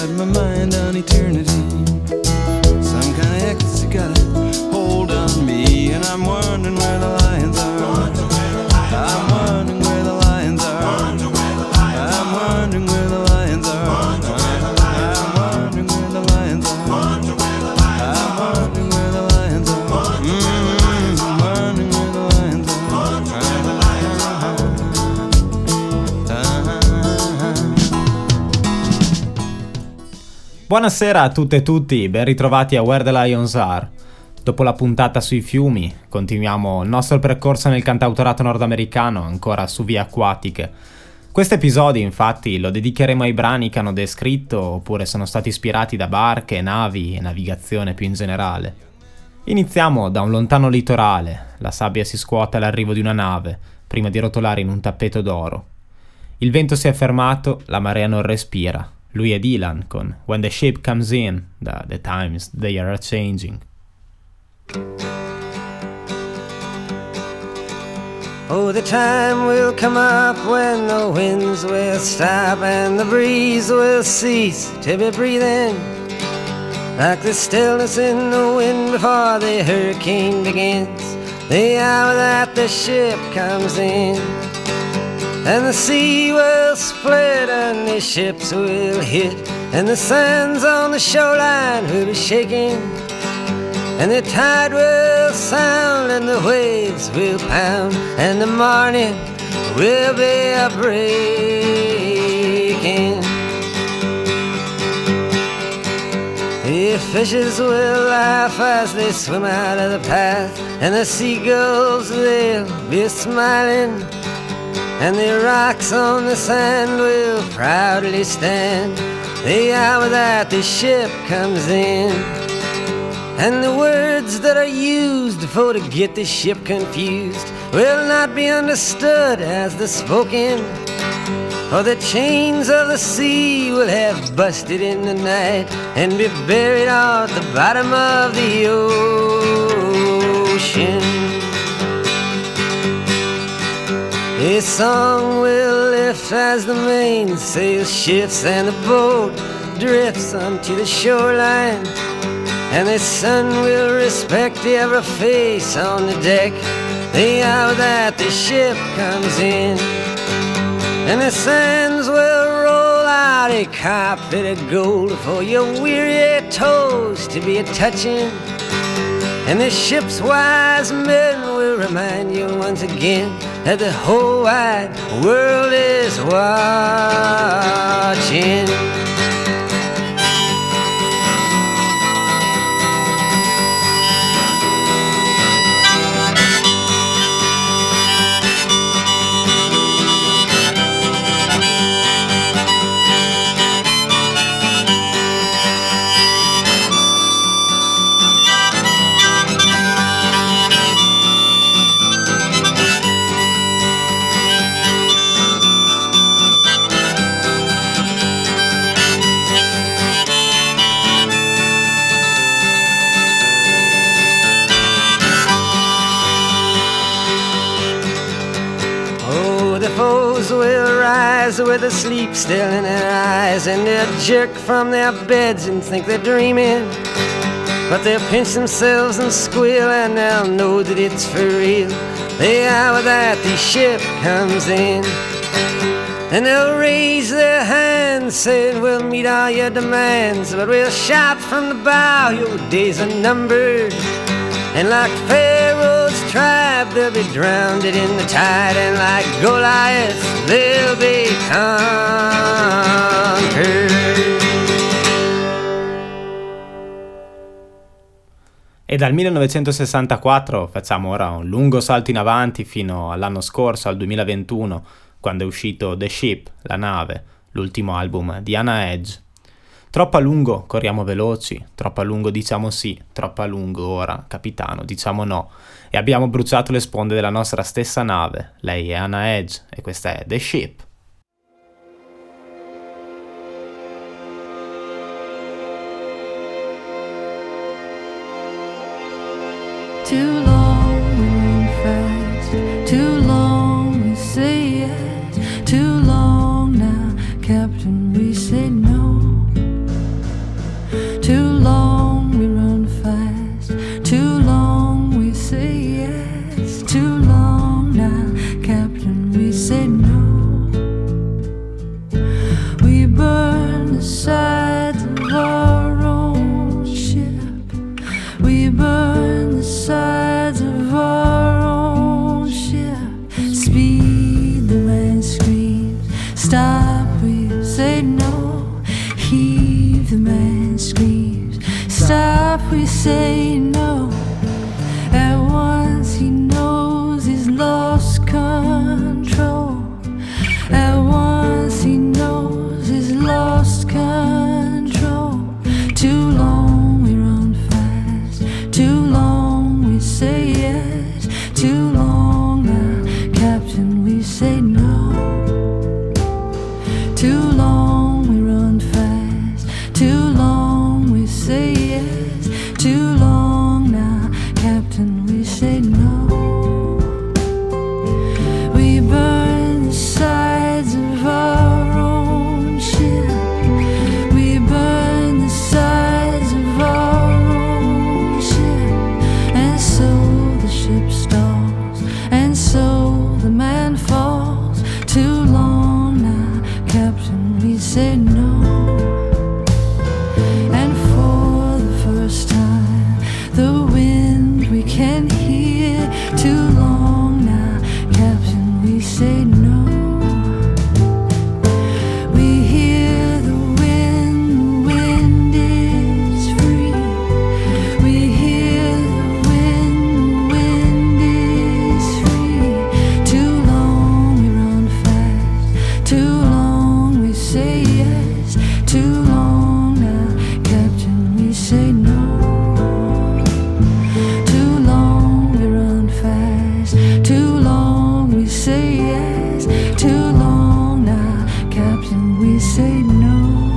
got my mind on eternity. Some kind of ecstasy got a hold on me, and I'm wondering where the lions are. I'm wondering where the lions are. I'm wondering where the lions are. I'm wondering where the lions are. I'm wondering where the lions are. I'm wondering where the lions are. Buonasera a tutte e tutti, ben ritrovati a Where the Lions Are. Dopo la puntata sui fiumi, continuiamo il nostro percorso nel cantautorato nordamericano, ancora su vie acquatiche. Questo episodio, infatti, lo dedicheremo ai brani che hanno descritto oppure sono stati ispirati da barche, navi e navigazione più in generale. Iniziamo da un lontano litorale, la sabbia si scuote all'arrivo di una nave, prima di rotolare in un tappeto d'oro. Il vento si è fermato, la marea non respira. Lui è Dylan con When the Ship Comes In, da The Times They Are Changing. Oh, the time will come up when the winds will stop and the breeze will cease to be breathing, like the stillness in the wind before the hurricane begins, the hour that the ship comes in. And the sea will split and the ships will hit, and the sands on the shoreline will be shaking, and the tide will sound and the waves will pound, and the morning will be a breaking. The fishes will laugh as they swim out of the path, and the seagulls they'll be smiling, and the rocks on the sand will proudly stand, the hour that the ship comes in. And the words that are used for to get the ship confused will not be understood as the spoken, for the chains of the sea will have busted in the night and be buried at the bottom of the ocean. A song will lift as the mainsail shifts and the boat drifts onto the shoreline, and the sun will respect every face on the deck, the hour that the ship comes in. And the sands will roll out a carpet of gold for your weary toes to be a-touching, and the ship's wise men will remind you once again that the whole wide world is watching. Will rise with a sleep still in their eyes, and they'll jerk from their beds and think they're dreaming, but they'll pinch themselves and squeal, and they'll know that it's for real, the hour that the ship comes in. And they'll raise their hands saying we'll meet all your demands, but we'll shout from the bow your days are numbered, and like Pharaoh's tribe they'll be drowned in the tide, and like Goliath they'll be conquered. E dal 1964 facciamo ora un lungo salto in avanti fino all'anno scorso, al 2021, quando è uscito The Ship, la nave, l'ultimo album di Hannah Edge. Troppo a lungo corriamo veloci, troppo a lungo diciamo sì, troppo a lungo ora, capitano, diciamo no. E abbiamo bruciato le sponde della nostra stessa nave. Lei è Hannah Edge e questa è The Ship. Too long we run fast, too long we say yes, too long now, Captain, we say no. heave, the man screams. Stop, we say no. At once he knows he's lost control. At once he knows he's lost control. Too long we run fast, too long we say yes, too long now, Captain, we say no. Too long we run fast, too long we say yes, too long now, Captain, we say no. We burn the sides of our own ship. We burn the sides of our own ship. And so the ship stalls, and so the man falls. Too long now, Captain, we say no. And for the first time, the wind we can hear. Too long now, Captain, we say no. We hear the wind is free. We hear the wind is free. Too long we run fast, too long we say yes, too long now, Captain, we say no. Too long we run fast, too long we say yes, too long now, Captain, we say no.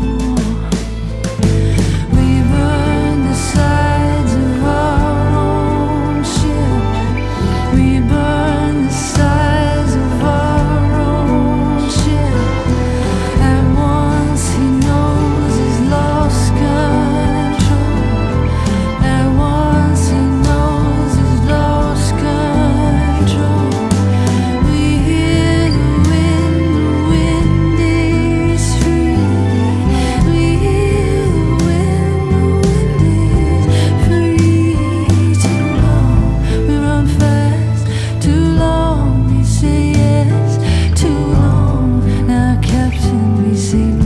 We burn the sides of our own ship. We burn the sides of our own ship. At once he knows he's lost control. At once he knows he's lost control. We hear the wind is free. We hear the wind is free. Too long we run fast, too long we say yes, too long now, Captain, we say no.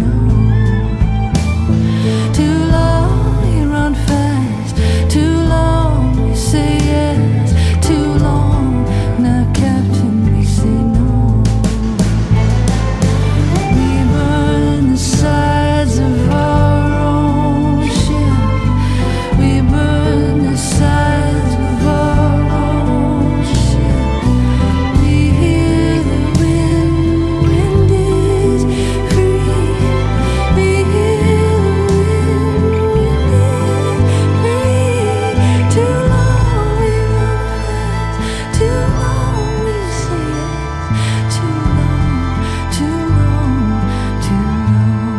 Too long we run fast, too long we say yes, too long now, Captain, we say no. We burn the sides of our own ship. We burn the sides of our own ship. We hear the wind is free. We hear the wind is free. Too long we run fast, too long we say yes, too long, too long, too long.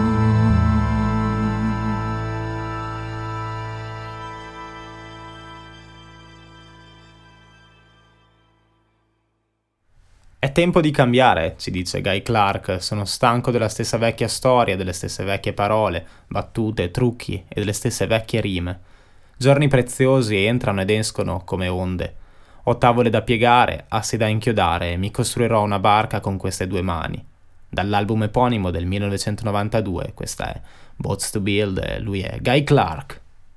È tempo di cambiare, ci dice Guy Clark. Sono stanco della stessa vecchia storia, delle stesse vecchie parole, battute, trucchi e delle stesse vecchie rime. Giorni preziosi entrano ed escono come onde. Ho tavole da piegare, assi da inchiodare e mi costruirò una barca con queste due mani. Dall'album eponimo del 1992, questa è Boats to Build e lui è Guy Clark.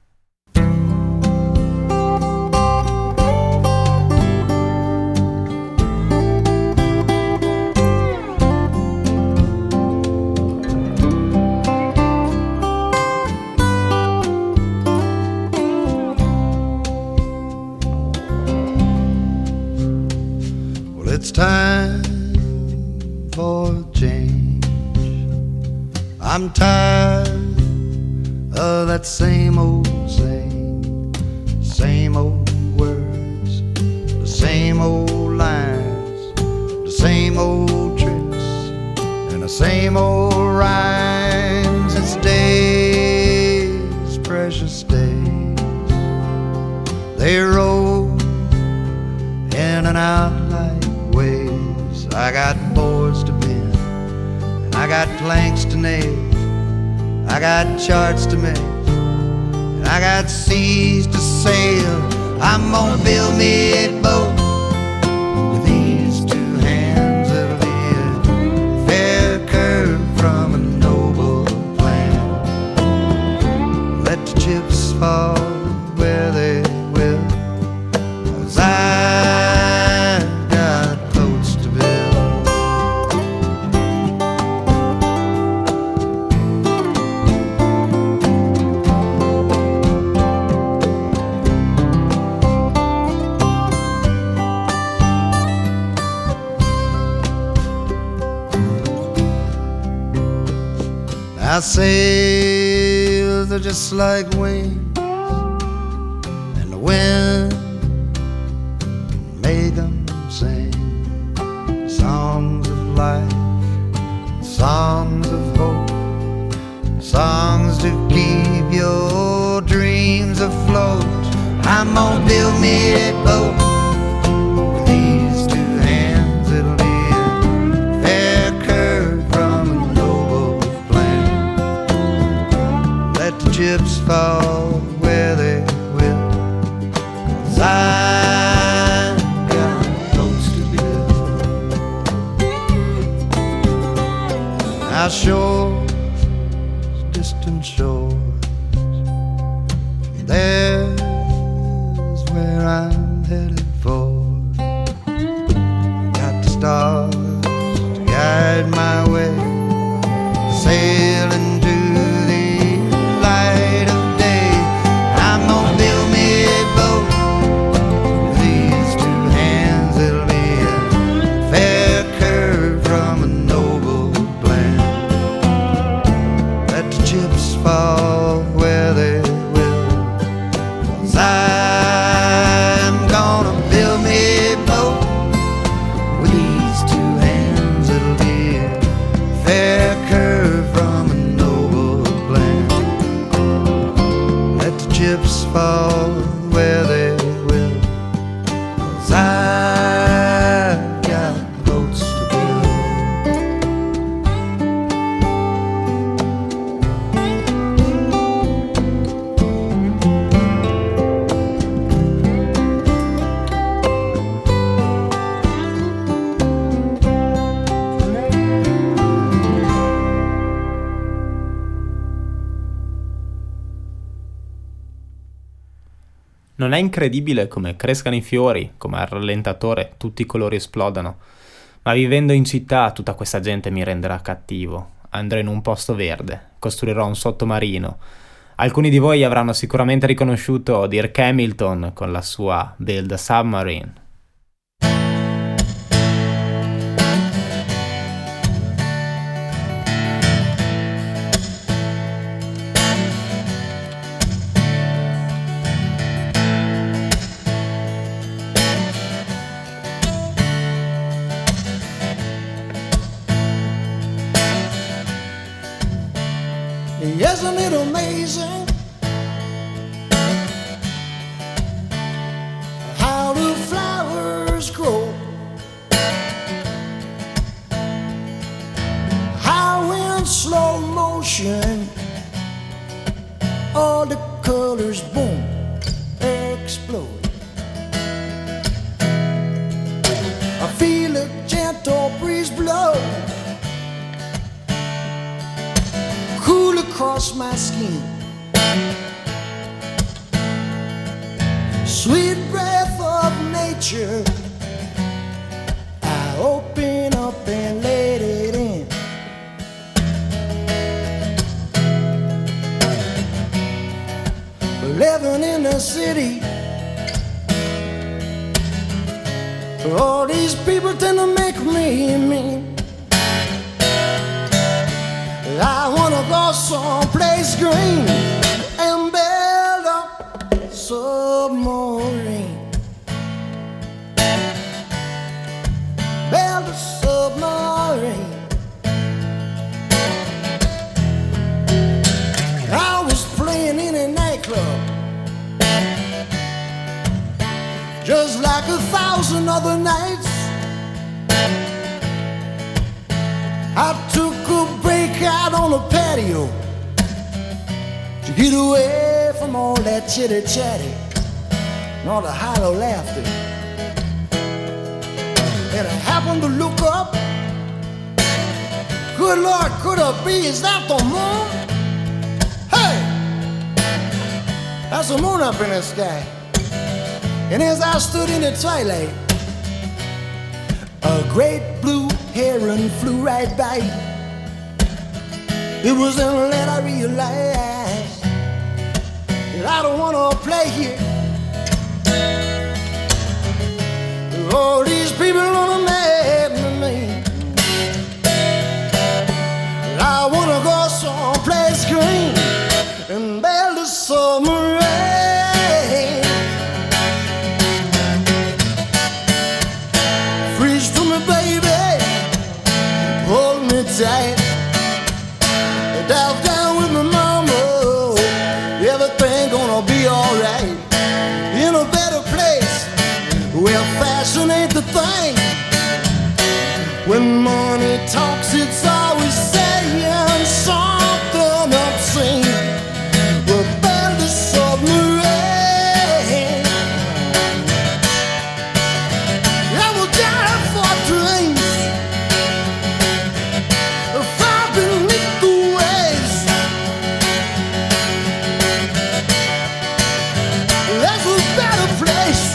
Well, it's time for change. I'm tired of that same old saying, same old words, the same old lines, the same old tricks, and the same old rhymes. It's days, precious days, they roll in and out like waves. I got boards to bend, and I got planks to nail, I got charts to make, and I got seas to sail. I'm gonna build me a boat with these two hands. It'll be a fair curve from a noble plan. fall where they will, 'cause I've got boats to build. Our sails are just like wings, and the wind can make them sing songs of life, songs of hope, songs to keep your dreams afloat. I'm gonna build me a boat with these two hands. It'll be a fair curve from a noble plan. Let the chips fall where they will, 'cause I've got boats to build. Our shores, distant shores, there's where I'm headed for. Got the stars to guide my way, sailing to the light of day. I'm gonna build me a boat with these two hands. It'll be a fair curve from a noble plan. Let the chips fall where they will, 'cause I'm gonna build me a boat with these two hands. It'll be a fair curve from a noble plan. Let the chips fall where they will, 'cause I've got boats to build. Non è incredibile come crescano i fiori, come al rallentatore tutti i colori esplodano? Ma vivendo in città tutta questa gente mi renderà cattivo. Andrò in un posto verde, costruirò un sottomarino. Alcuni di voi avranno sicuramente riconosciuto Dirk Hamilton con la sua Build a Submarine. Isn't it amazing how the flowers grow, how in slow motion all the colors boom explode. I feel a gentle breeze blow cool across my skin, sweet breath of nature. I open up and let it in. Living in the city, all these people tend to make me mean. I wanna go someplace green and build a submarine. Build a submarine. I was playing in a nightclub, just like 1,000 other nights. I took a break out on the patio to get away from all that chitty chatty and all the hollow laughter. And I happened to look up. Good Lord, could it be? Is that the moon? Hey! That's the moon up in the sky. And as I stood in the twilight, a great blue heron flew right by. It was then that I realized that I don't want to play here. All these people on the mad with me. I want to go someplace green and build a submarine. Freeze to me, baby, hold me tight. Dive down with my mama, everything gonna be alright. In a better place, where fashion ain't the thing. When money talks, it's always saying something obscene. We'll build a submarine, and we'll dive for dreams far beneath the waves. That's a better place.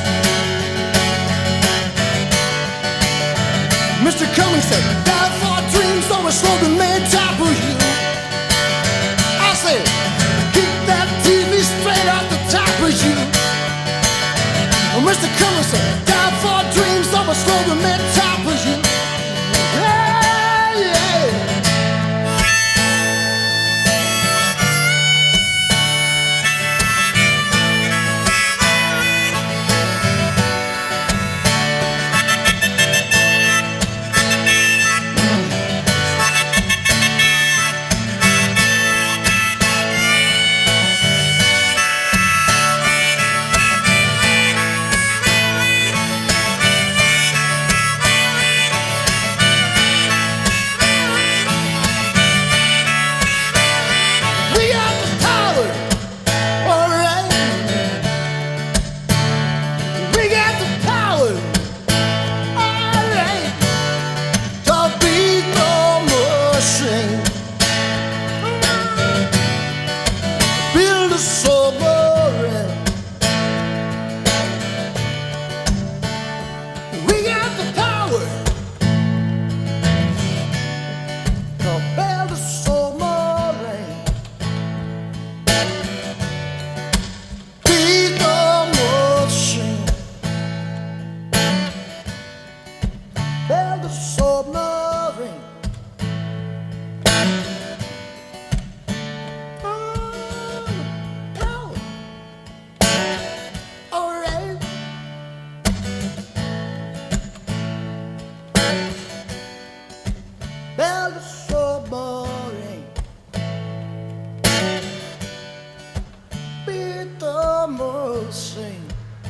Mr. Cummings said, dive for dreams, so a slogan made top of you. I said, keep that TV straight off the top of you. Mr. Cummings said, dive for dreams, so a slogan made top of you. Yeah, yeah. We got the power, all right. We got the power, all right, to beat the machine. Build a submarine. We got the power to build a submarine. Beat the machine. Build a submarine. All right. Build a submarine. Beat the machine.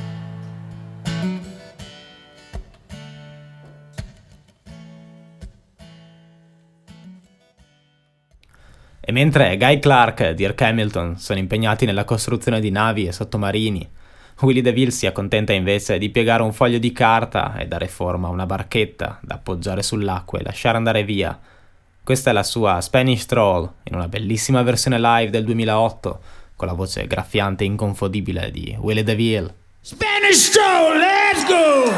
E mentre Guy Clark e Dirk Hamilton sono impegnati nella costruzione di navi e sottomarini, Willie DeVille si accontenta invece di piegare un foglio di carta e dare forma a una barchetta da appoggiare sull'acqua e lasciare andare via. Questa è la sua Spanish Stroll, in una bellissima versione live del 2008, con la voce graffiante e inconfondibile di Willie DeVille. Spanish Stroll, let's go!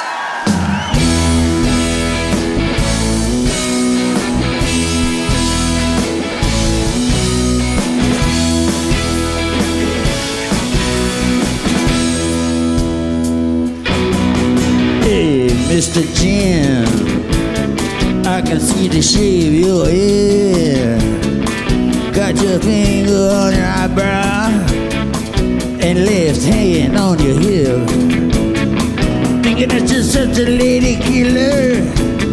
Hey, Mr. Jim, I can see the shape of your head. Got your finger on your eyebrow and left hand on your hip. Thinking that you're such a lady killer.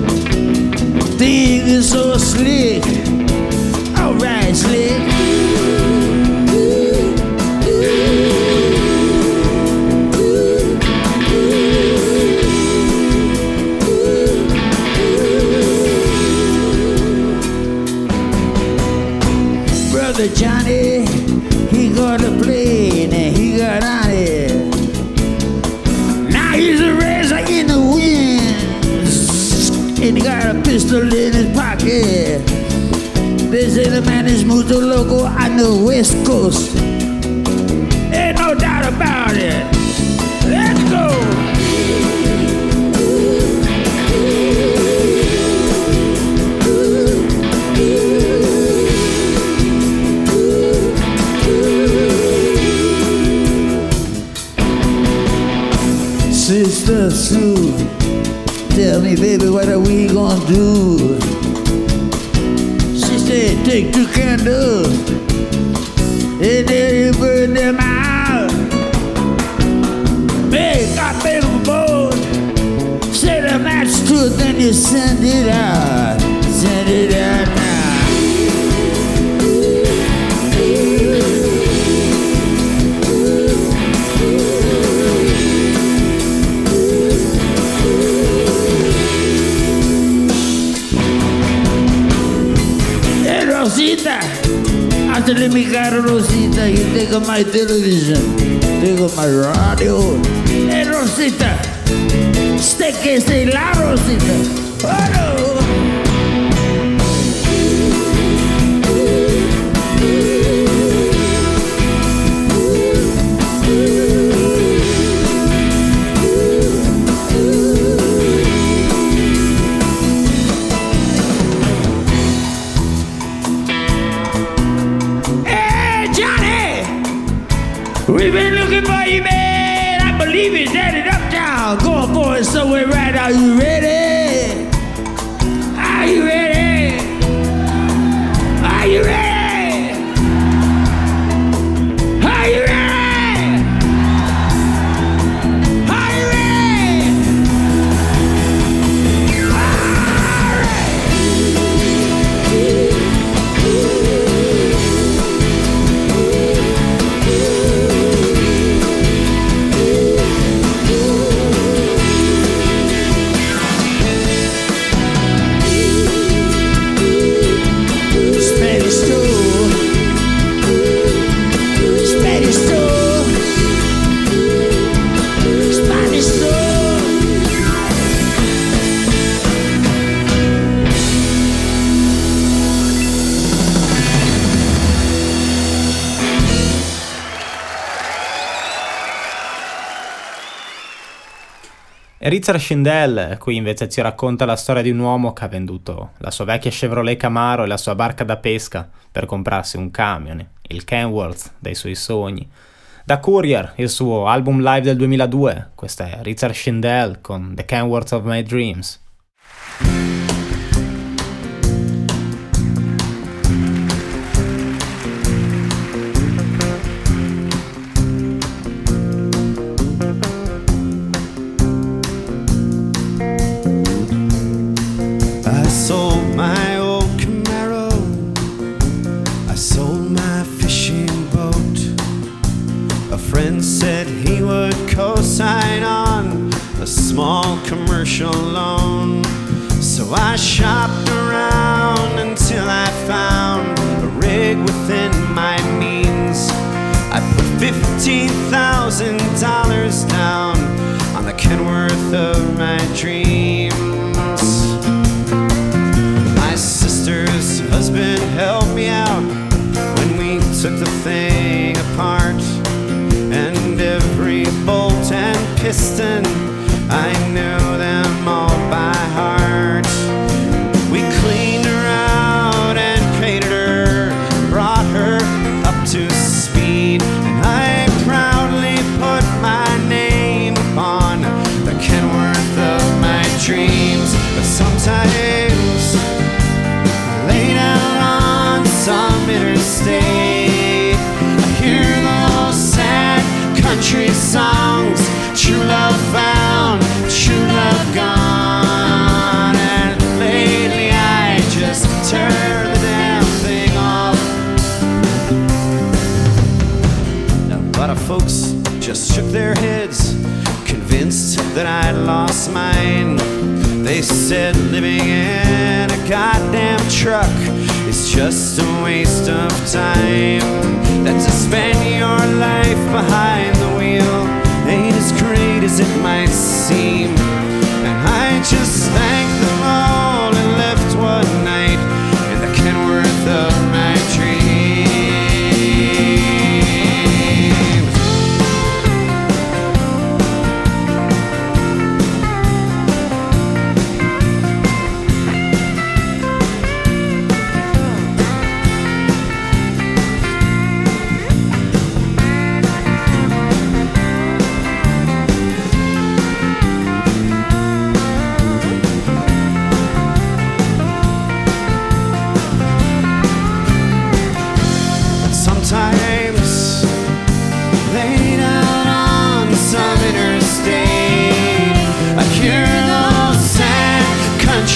Think you're so slick. Alright, slick. Brother Johnny, he got a plane and he got on it. Now he's a razor in the wind, and he got a pistol in his pocket. They say the man is mucho loco on the west coast, and no doubt about it. Let's go. Sister Sue, tell me, baby, what are we gonna do? She said, take 2 candles and then you burn them out. Make a big boat, set a match to it, then you send it out. Send it out now. Rosita, after let me got Rosita, you take on my television, take on my radio. Hey Rosita, usted que se la Rosita. Oh no. We've been looking for you, man. I believe it's headed uptown. Going for it somewhere right now. Are you ready? Are you ready? Are you ready? Are you ready? Are you ready? All right. Richard Shindell qui invece ci racconta la storia di un uomo che ha venduto la sua vecchia Chevrolet Camaro e la sua barca da pesca per comprarsi un camion, il Kenworth dei suoi sogni. Da Courier, il suo album live del 2002, questo è Richard Shindell con The Kenworth of My Dreams. Sold my old Camaro, I sold my fishing boat. A friend said he would co-sign on a small commercial loan. So I shopped around until I found a rig within my means. I put $15,000 down on the Kenworth of my dreams. Sister's husband helped me out when we took the thing apart, and every bolt and piston, I knew them all by heart. We cleaned her out and painted her, brought her up to speed, and I proudly put my name upon the Kenworth of my dreams. But sometimes some interstate, I hear those sad country songs. True love found, true love gone. And lately I just turn the damn thing off. Now a lot of folks just shook their heads, convinced that I'd lost mine. They said living in a goddamn truck it's just a waste of time. That to spend your life behind the wheel ain't as great as it might seem. And I just thanked them all and left one night in the Kenworth of my dreams.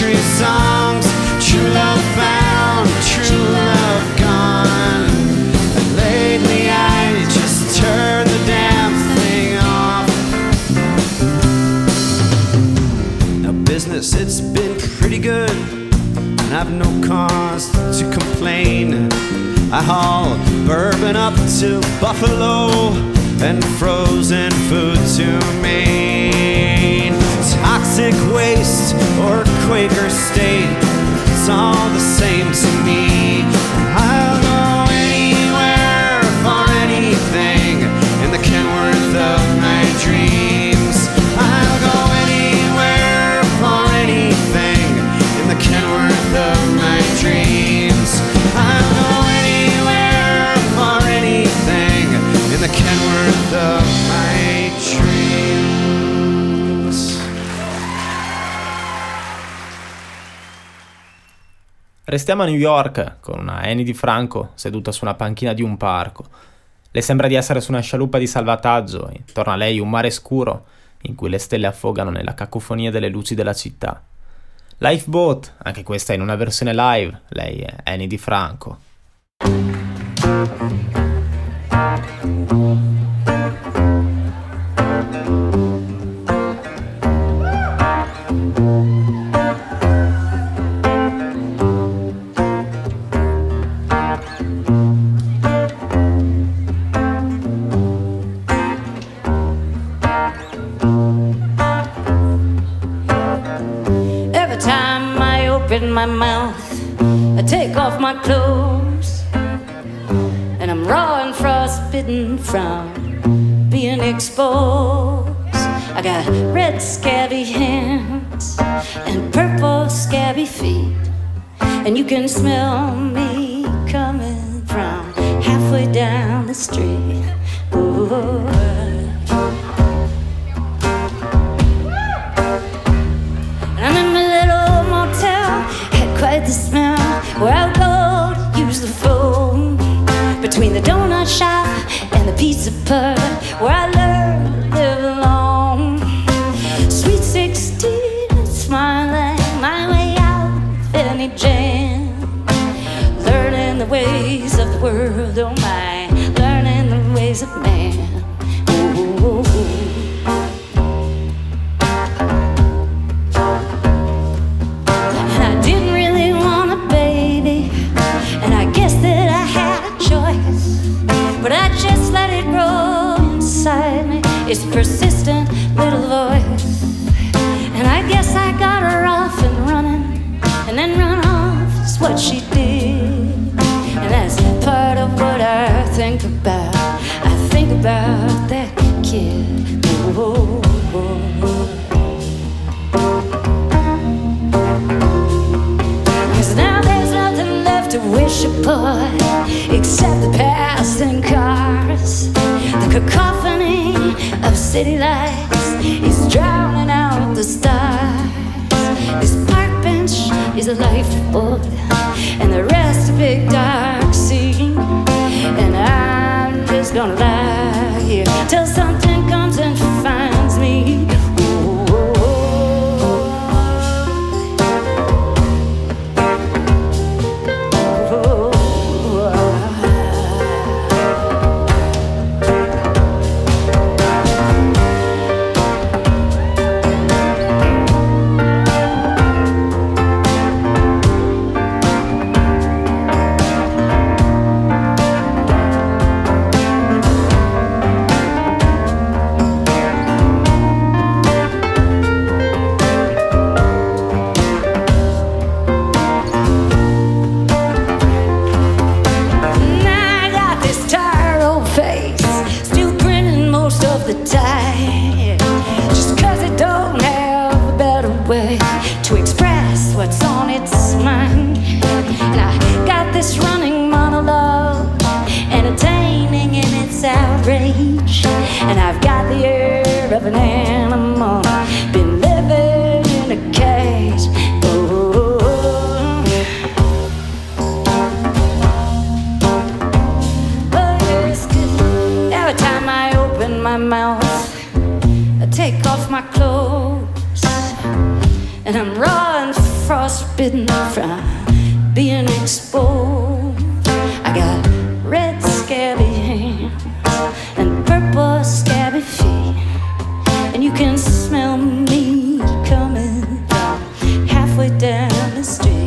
country songs. True love found, true love gone. And lately I just turned the damn thing off. Now business, it's been pretty good, and I've no cause to complain. I haul bourbon up to Buffalo and frozen food to Maine. Toxic waste or Quaker State, it's all the same to me. I'll go anywhere for anything in the Kenworth of my dreams. I'll go anywhere for anything in the Kenworth of my dreams. I'll go anywhere for anything in the Kenworth of my dreams. Restiamo a New York con una Annie DiFranco seduta su una panchina di un parco. Le sembra di essere su una scialuppa di salvataggio e intorno a lei un mare scuro in cui le stelle affogano nella cacofonia delle luci della città. Lifeboat, anche questa in una versione live, lei è Annie DiFranco. Every time I open my mouth, I take off my clothes, and I'm raw and frostbitten from being exposed. I got red scabby hands and purple scabby feet, and you can smell me coming from halfway down the street. Ooh. I'm in my little motel, had quite the smell, where I'll go to use the phone. Between the donut shop and the pizza pub, where I learned to live alone. Sweet 16, smiling my way out of any jam. Learning the ways of the world, oh my, learning the ways of man. Ooh. I didn't really want a baby, and I guess that I had a choice, but I just let it grow inside me, its persistent little voice. And I guess I got her off and running, and then run off is what she did. And that's part of what I think about. I think about that kid. Ooh. Now there's nothing left to wish upon except the passing cars. The cacophony of city lights is drowning out the stars. This park bench is a lifeboat, and the rest a big dark sea. And I'm just gonna lie here till something comes and finds me. To express what's on its mind. And I got this running monologue, entertaining in its outrage. And I've got the air of an animal, been living in a cage. Oh. Oh, yes, 'cause every time I open my mouth, I take off my clothes, and I'm raw and frostbitten from being exposed. I got red scabby hands and purple scabby feet, and you can smell me coming from halfway down the street.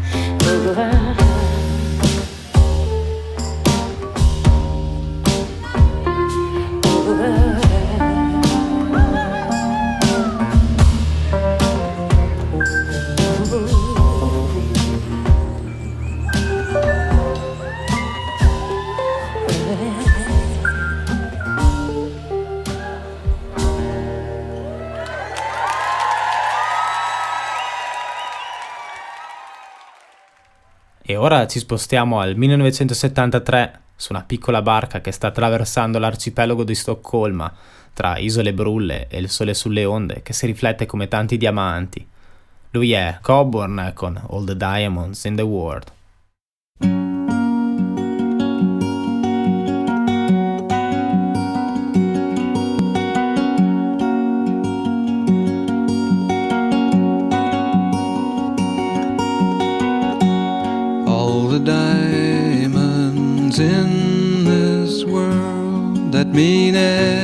E ora ci spostiamo al 1973 su una piccola barca che sta attraversando l'arcipelago di Stoccolma tra isole brulle e il sole sulle onde che si riflette come tanti diamanti. Lui è Coburn con All the Diamonds in the World. Diamonds in this world that mean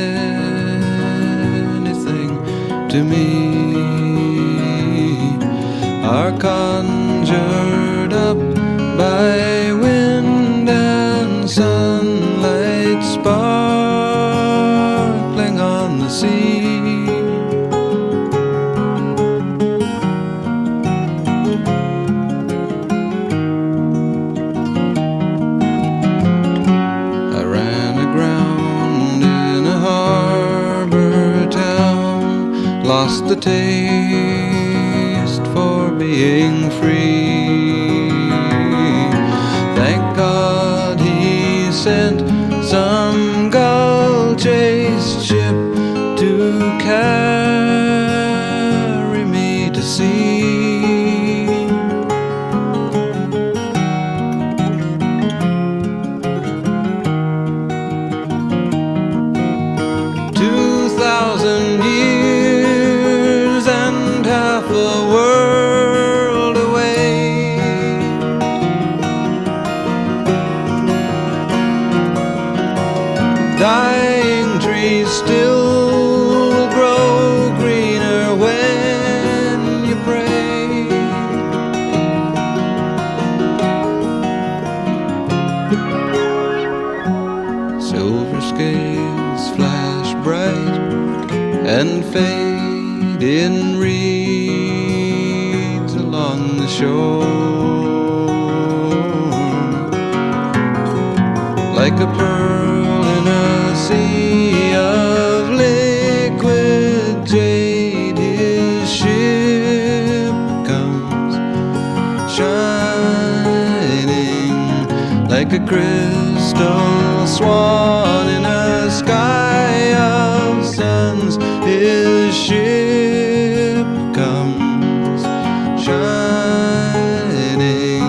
anything to me are conjured up by wind and sunlight sparkling on the sea. Lost the taste for being free. Thank God he sent some gull-chased ship to carry me to sea. 2,000 years and half a world away. Dying trees still grow greener when you pray. Silver scales flash bright and fade in reeds along the shore, like a pearl in a sea of liquid jade. His ship comes shining like a crystal swan in a sky of suns. His ship comes shining.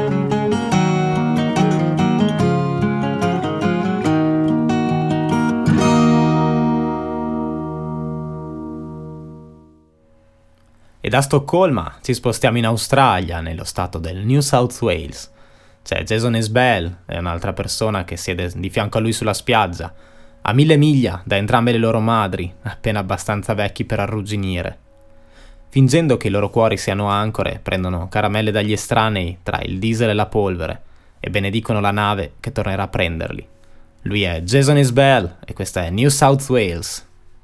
E da Stoccolma ci spostiamo in Australia, nello stato del New South Wales. C'è Jason Isbell, è un'altra persona che siede di fianco a lui sulla spiaggia, a 1000 miglia da entrambe le loro madri, appena abbastanza vecchi per arrugginire. Fingendo che i loro cuori siano ancore, prendono caramelle dagli estranei tra il diesel e la polvere e benedicono la nave che tornerà a prenderli. Lui è Jason Isbell e questa è New South Wales.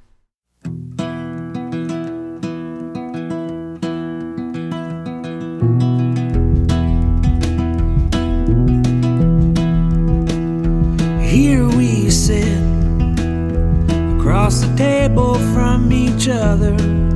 Here we sit across the table from each other,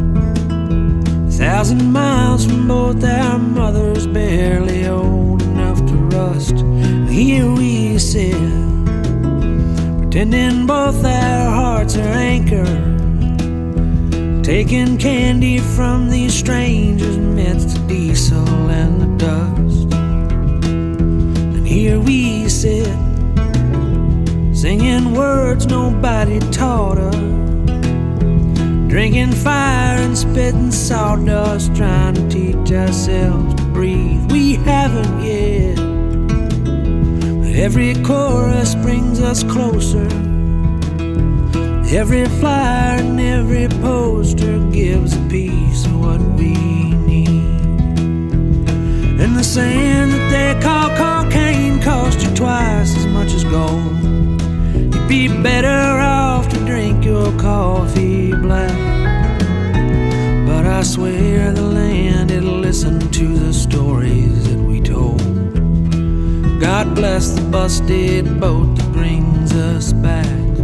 1,000 miles from both our mothers, barely old enough to rust. Here we sit, pretending both our hearts are anchored, taking candy from these strangers amidst the diesel and the dust. And here we sit, singing words nobody taught us, drinking fire and spitting sawdust, trying to teach ourselves to breathe. We haven't yet, but every chorus brings us closer. Every flyer and every poster gives a piece of what we need. And the sand that they call cocaine costs you twice as much as gold. You'd be better off to drink your coffee black. But I swear the land, it'll listen to the stories that we told. God bless the busted boat that brings us back.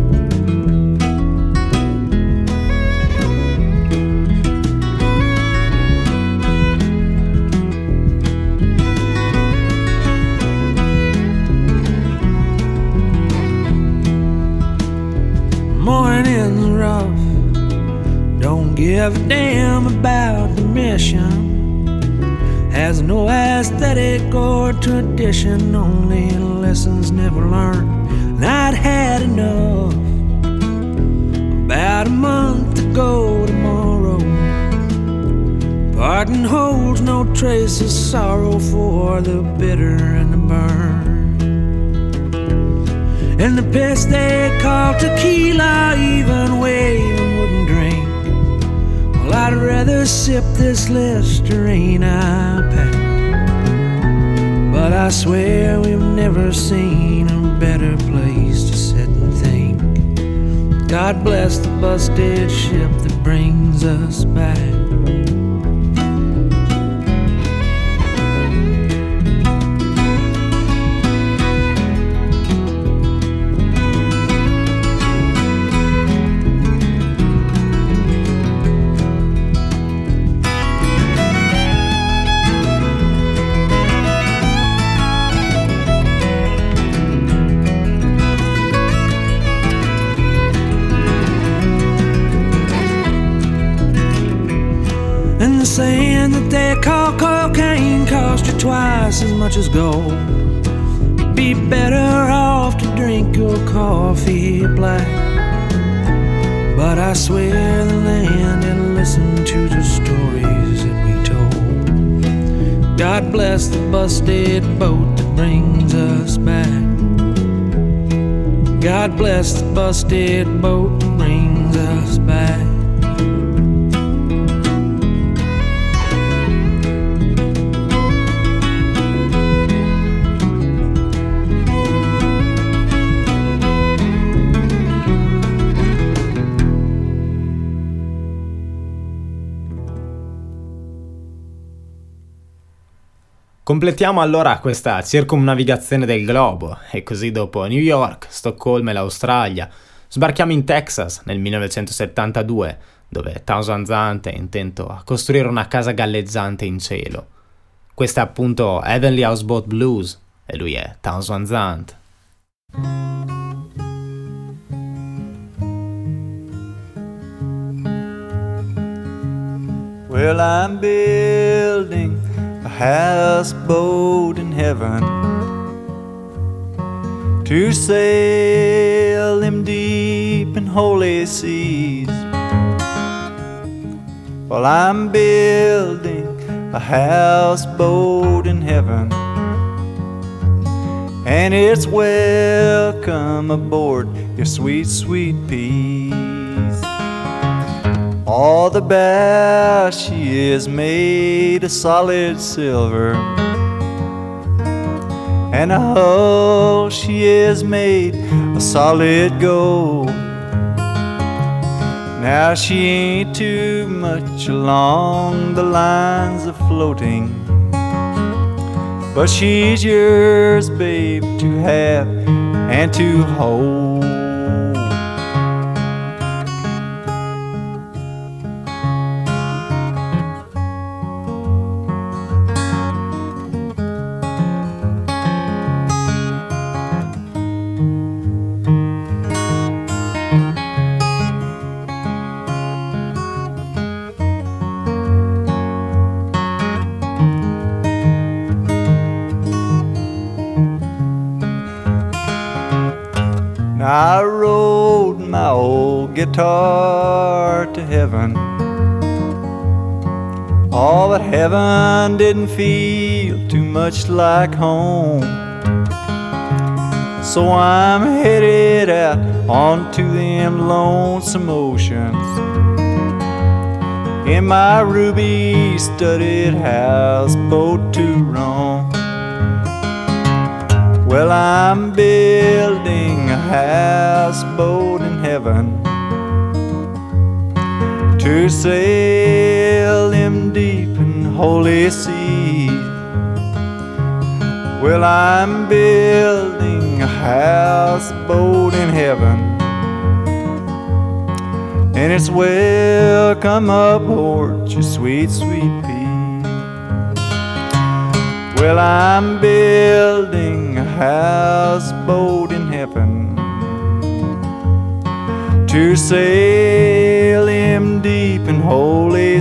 Morning's rough, don't give a damn about the mission. Has no aesthetic or tradition, only lessons never learned. And I'd had enough about a month ago tomorrow. Parting holds no trace of sorrow for the bitter and the burn. And the piss they call tequila, even Waylon wouldn't drink. Well, I'd rather sip this Listerine I packed. But I swear we've never seen a better place to sit and think. God bless the busted ship that brings us back. And the sand that they call cocaine cost you twice as much as gold. You'd be better off to drink your coffee black. But I swear the land, it'll listen to the stories that we told. God bless the busted boat that brings us back. God bless the busted boat that brings us back. Completiamo allora questa circumnavigazione del globo e così dopo New York, Stoccolma e l'Australia sbarchiamo in Texas nel 1972, dove Townsend Zant è intento a costruire una casa galleggiante in cielo. Questa è appunto Heavenly Houseboat Blues e lui è Townsend Zant. Well, I'm building a houseboat in heaven to sail them deep and holy seas. Well, I'm building a houseboat in heaven, and it's welcome aboard your sweet, sweet peas. All the bow she is made of solid silver, and the hull she is made of solid gold. Now she ain't too much along the lines of floating, but she's yours, babe, to have and to hold. rode my old guitar to heaven. Oh, but heaven didn't feel too much like home. So I'm headed out onto them lonesome oceans in my ruby-studded houseboat to roam. Well, I'm building a houseboat in heaven to sail them deep and holy seas. Well, I'm building a houseboat in heaven, and it's welcome aboard, you sweet, sweet pea. Well, I'm building a houseboat in heaven to sail them deep and holy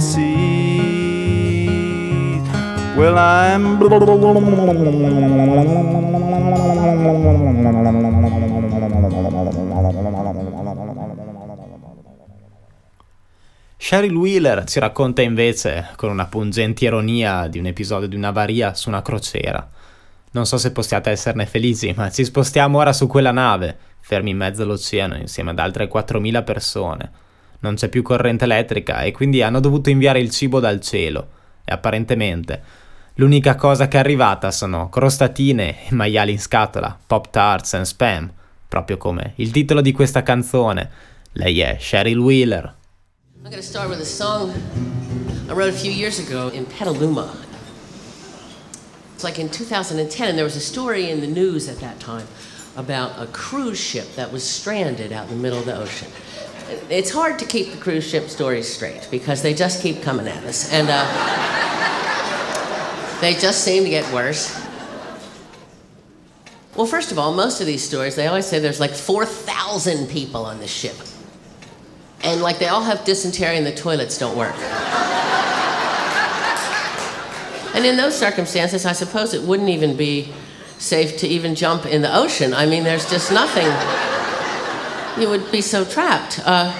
seas. Well, I'm Cheryl Wheeler ci racconta invece, con una pungente ironia, di un episodio di un'avaria su una crociera. Non so se possiate esserne felici, ma ci spostiamo ora su quella nave, fermi in mezzo all'oceano insieme ad altre 4.000 persone. Non c'è più corrente elettrica e quindi hanno dovuto inviare il cibo dal cielo. E apparentemente l'unica cosa che è arrivata sono crostatine e maiali in scatola, Pop Tarts and Spam, proprio come il titolo di questa canzone. Lei è Cheryl Wheeler. I'm going to start with a song I wrote a few years ago in Petaluma. It's like in 2010, and there was a story in the news at that time about a cruise ship that was stranded out in the middle of the ocean. It's hard to keep the cruise ship stories straight because they just keep coming at us, and they just seem to get worse. Well, first of all, most of these stories, they always say there's like 4,000 people on this ship. And like they all have dysentery and the toilets don't work. And in those circumstances, I suppose it wouldn't even be safe to even jump in the ocean. I mean, there's just nothing. You would be so trapped.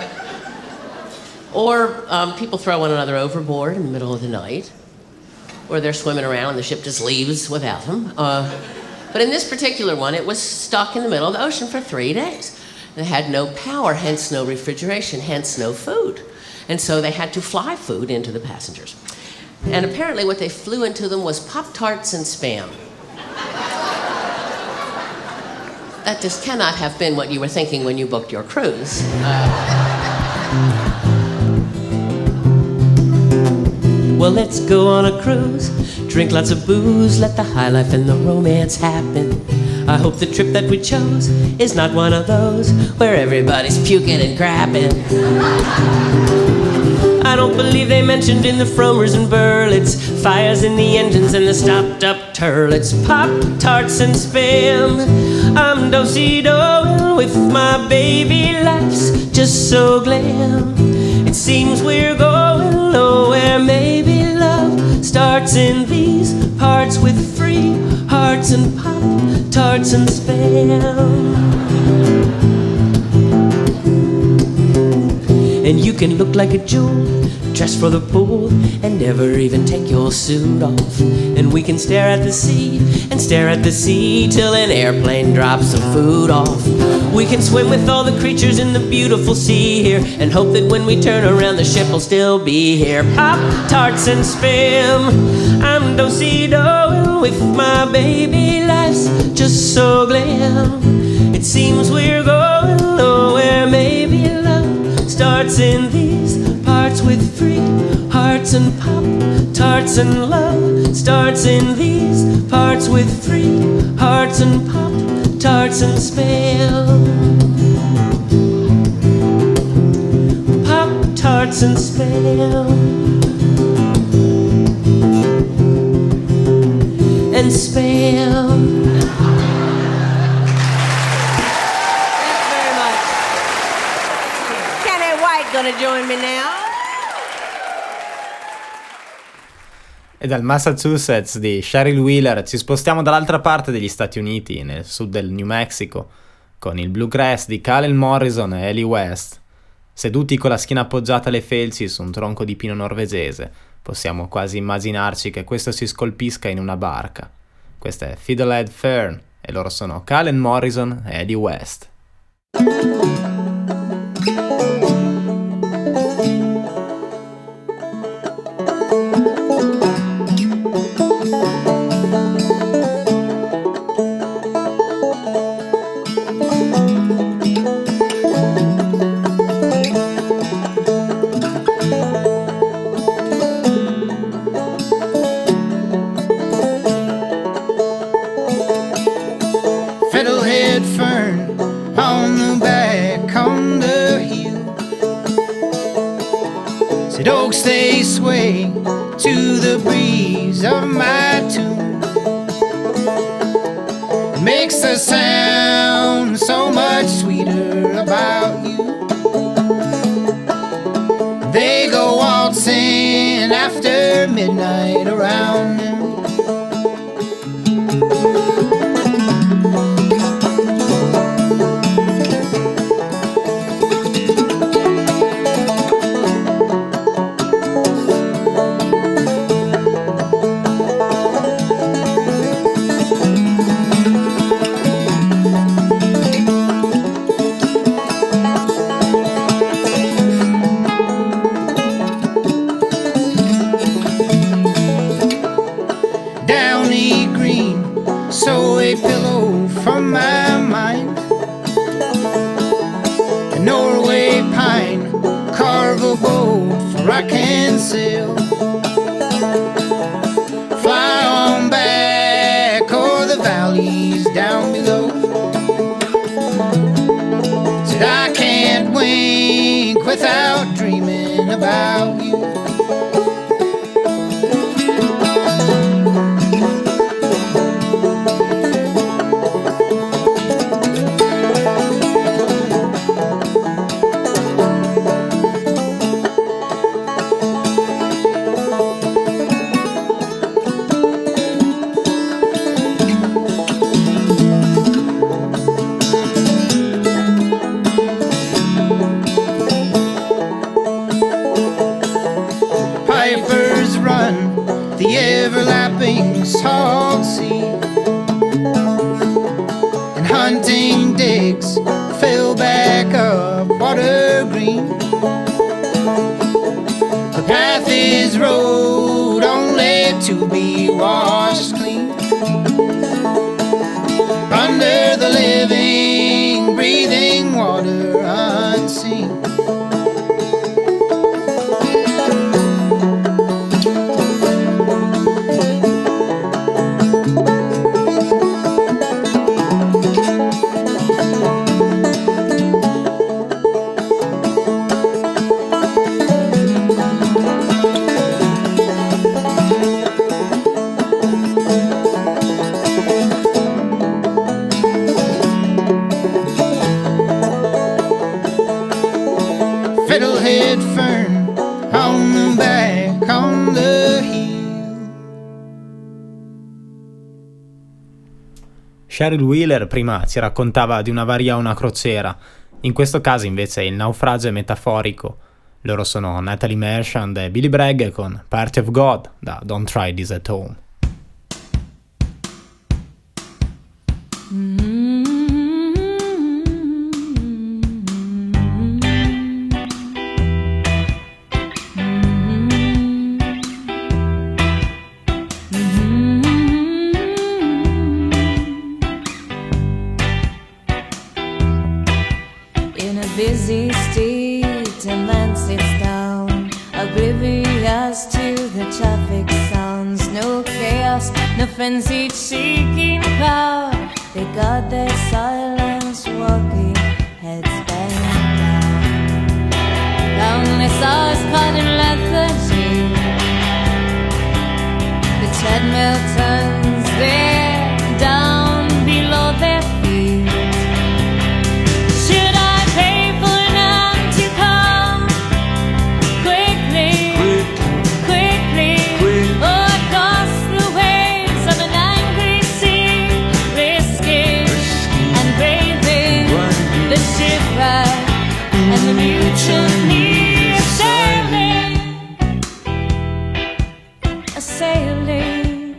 Or people throw one another overboard in the middle of the night. Or they're swimming around and the ship just leaves without them. But in this particular one, it was stuck in the middle of the ocean for 3 days. They had no power, hence no refrigeration, hence no food. And so they had to fly food into the passengers. And apparently what they flew into them was Pop-Tarts and Spam. That just cannot have been what you were thinking when you booked your cruise. Well, let's go on a cruise, drink lots of booze, let the high life and the romance happen. I hope the trip that we chose is not one of those where everybody's puking and crapping. I don't believe they mentioned in the Fromers and Burlets fires in the engines and the stopped-up turlets. Pop-Tarts and Spam, I'm do-si-doing with my baby. Life's just so glam. It seems we're going nowhere. Maybe love starts in these parts with free hearts and Pop-Tarts and Spam. And you can look like a jewel, dressed for the pool, and never even take your suit off. And we can stare at the sea, and stare at the sea, till an airplane drops some food off. We can swim with all the creatures in the beautiful sea here, and hope that when we turn around the ship will still be here. Pop-Tarts and Spam, I'm do-si-doing with my baby. Life's just so glam. It seems we're going nowhere. Maybe love starts in these parts with free hearts and Pop-Tarts, and love starts in these parts with free hearts and Pop-Tarts and Spam. Pop-Tarts and Spam. And Spam. Gonna join me now. E dal Massachusetts di Cheryl Wheeler ci spostiamo dall'altra parte degli Stati Uniti, nel sud del New Mexico, con il bluegrass di Calen Morrison e Ellie West. Seduti con la schiena appoggiata alle felci su un tronco di pino norvegese, possiamo quasi immaginarci che questo si scolpisca in una barca. Questa è Fiddlehead Fern e loro sono Calen Morrison e Eddie West. Fiddlehead fern on the back on the hill. Said oaks they sway to the breeze of my tune. It makes the sound so much sweeter about you. They go waltzing after midnight around them. From my mind, a Norway pine, carve a boat for I can sail. Fly on back o'er the valleys down below. Said I can't wink without dreaming about you. Pipers run the everlapping salt sea, and hunting digs fill back up water green. The path is road only to be washed clean. Under the living, breathing water unseen. Fiddlehead fern on the back on the hill. Cheryl Wheeler prima ci raccontava di una varia a una crociera, in questo caso invece il naufragio è metaforico. Loro sono Natalie Merchant e Billy Bragg con Part of God da Don't Try This at Home. Busy street, a man sits down, oblivious to the traffic sounds. No chaos, no frenzied seeking crowd. They got their silence, walking, heads bent down. Lonely souls caught in lethargy. The treadmill turns there, down below their feet. Should I pay for them to come quickly, or across the waves of an angry sea, risking and bathing and the mutiny is sailing, a sailing.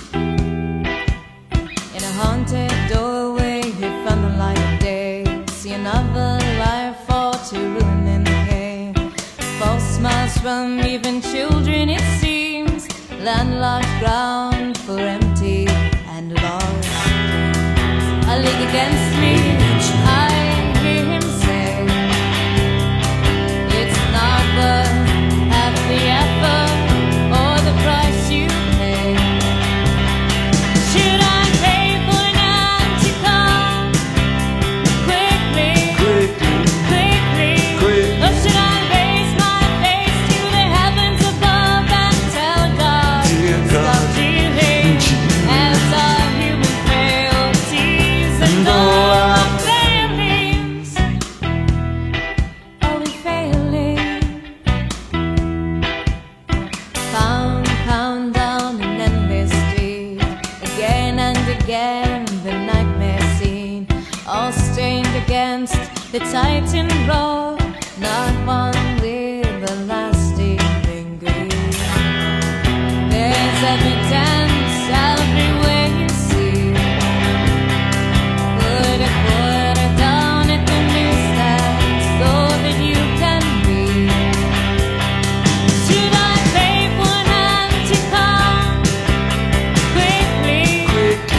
In a haunted doorway, hid from the light of day, see another life fall to ruin and decay. False smiles from even children, it seems, landlocked ground for empty and lost. A league against me, I hear him say, it's not worth half the effort or the price you pay. Should I pay for an empty car? Quickly, or should I raise my face to the heavens above and tell God, stop dealing as our human frailties and all our failings? Are we failing? Pound down an endless street, again and again the nightmare scene, all stained against the titan roar, not one with a lasting lingering. There's evidence everywhere you see. Put a quarter down at the newsstand so that you can read. Should I pay for an empty car? Quickly,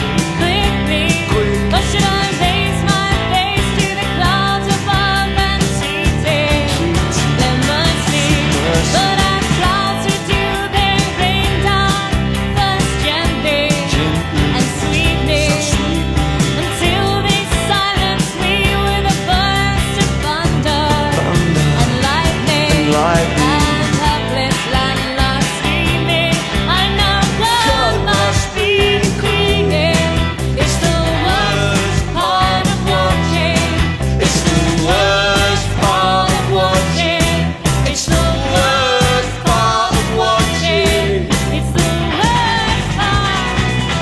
or should I raise my face to the clouds above and treat them mercy? But as clouds do, they rain down first gently and sweetly, until they silence me with a burst of thunder and lightning, and helpless landlocked screaming. I know God must be decreeing. It's the worst part of watching. It's the worst part of watching. It's the worst part of watching. It's the worst part.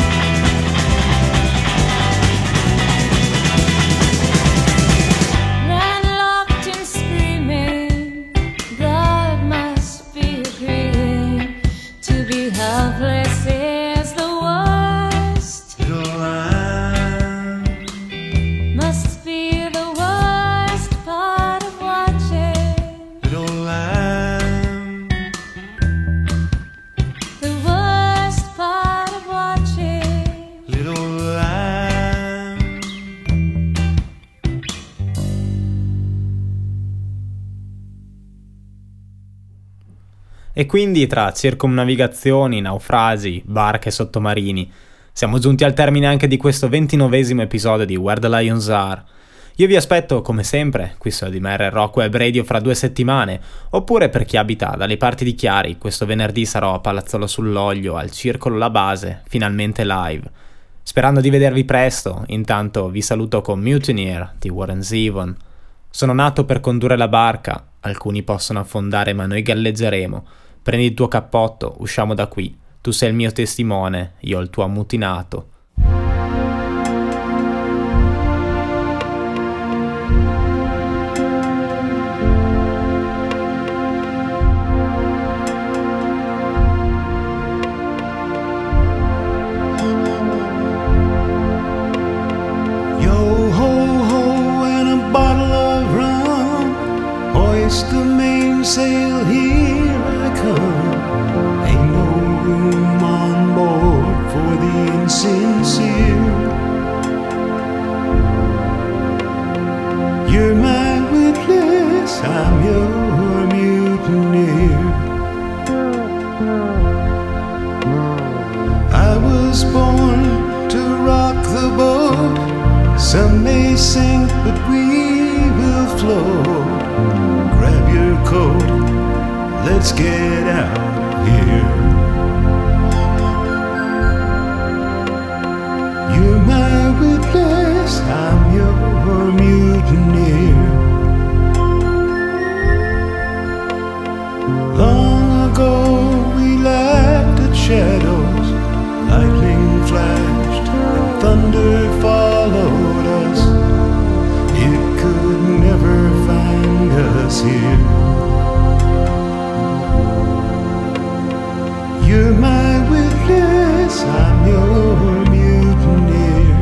Landlocked and screaming, God must be agreeing. To be helpless is the worst. Must be the worst part of watching. The worst part of watching. E quindi tra circumnavigazioni, naufragi, barche sottomarini, siamo giunti al termine anche di questo 29esimo episodio di Where the Lions Are. Io vi aspetto, come sempre, qui su ADMR Rock Web Radio fra 2 settimane, oppure per chi abita dalle parti di Chiari, questo venerdì sarò a Palazzolo sull'Oglio, al Circolo La Base, finalmente live. Sperando di vedervi presto, intanto vi saluto con Mutineer di Warren Zevon. Sono nato per condurre la barca, alcuni possono affondare ma noi galleggeremo. Prendi il tuo cappotto, usciamo da qui. Tu sei il mio testimone, io il tuo ammutinato. Yo ho ho and a bottle of rum, hoist the mainsail, here I come. Ain't no room on board for the insincere. You're my witness, I'm your mutineer. I was born to rock the boat. Some may sink, but we will float. Grab your coat, let's get out of here. You're my witness, I'm your mutineer. Long ago we laughed at shadows, lightning flashed and thunder followed us. It could never find here. You're my witness, I'm your mutineer.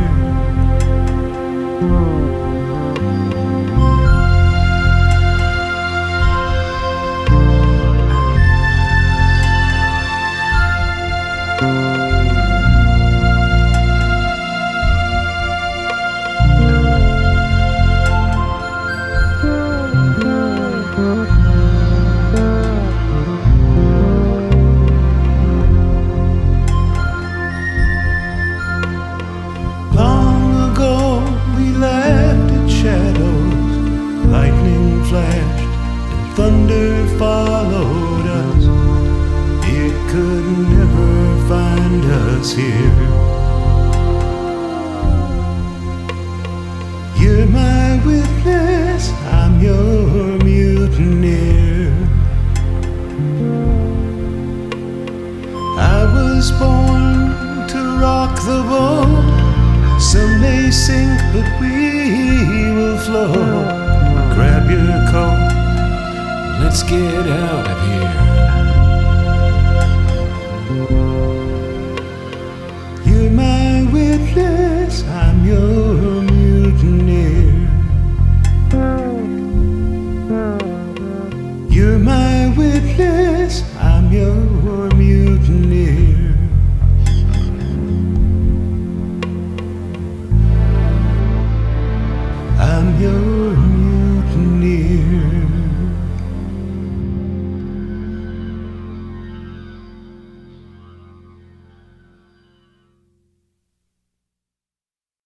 Thunder followed us. It could never find us here. You're my witness, I'm your mutineer. I was born to rock the boat. Some may sink, but we will float. Grab your coat, let's get out of here.